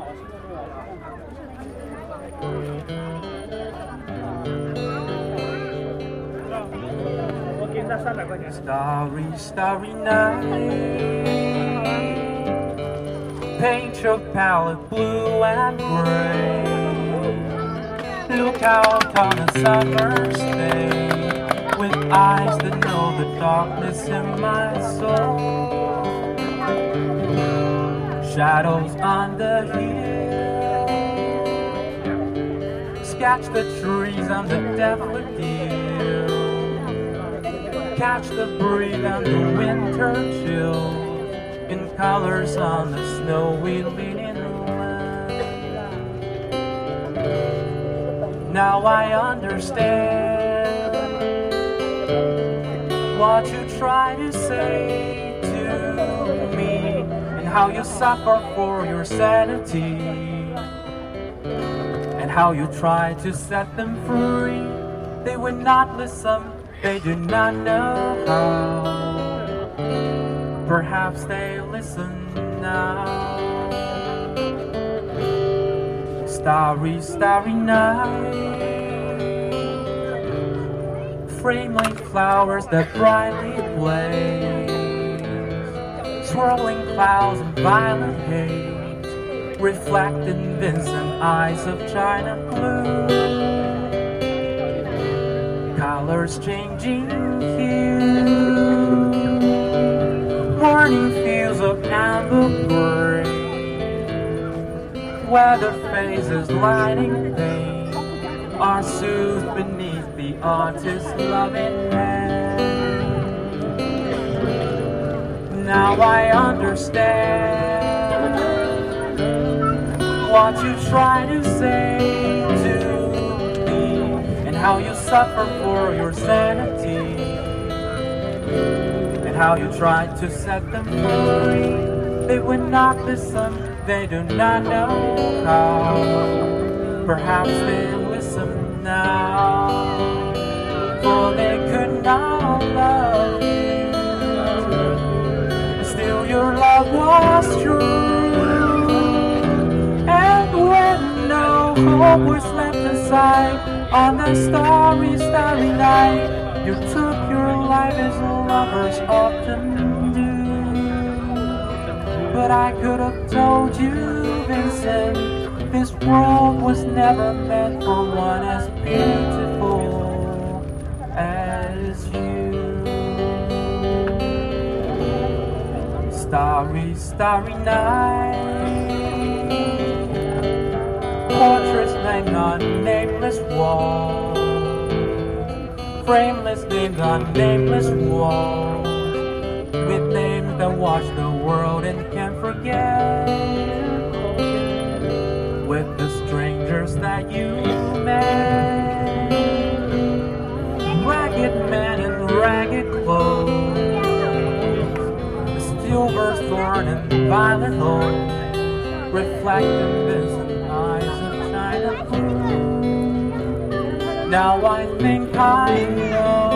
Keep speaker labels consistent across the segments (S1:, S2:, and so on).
S1: Starry, starry night, paint your palette blue and gray. Look out on a summer's day, with eyes that know the darkness in my soul. Shadows on the hill, sketch the trees and the daffodil, catch the breeze and the winter chill, in colors on the snowy linen land. Now I understand what you try to say to me, and how you suffer for your sanity, and how you try to set them free. They would not listen, they do not know how. Perhaps they listen now. Starry, starry night, frame like flowers that brightly blaze, swirling clouds and violet haze, reflect in Vincent eyes of china blue. Colors changing hue, morning fields of amber gray, weather phases lighting pain are soothed beneath the artist's loving hand. Now I understand what you try to say to me, and how you suffer for your sanity, and how you try to set them free. They would not listen, they do not know how. Perhaps they listen now, for they could not love you. Still your love was true, and when no hope was left aside on that starry, starry night, you took your life as lovers often do. But I could have told you, Vincent, this world was never meant for one as beautiful as you. Starry, starry night, portraits named on nameless walls, frameless named on nameless walls, with names that watch the world and can't forget, with the strangers that you met, ragged men in ragged clothes, the silver thorn and violet rose, reflect in Vincent eyes of china blue. Now I think I know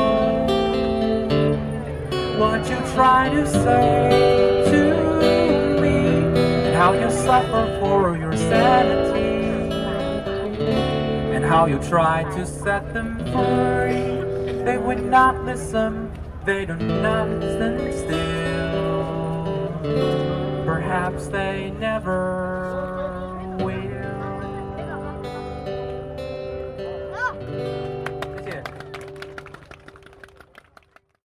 S1: what you try to say to me, and how you suffer for your sanity, and how you try to set them free. They would not listen, they do not stand still. Perhaps they never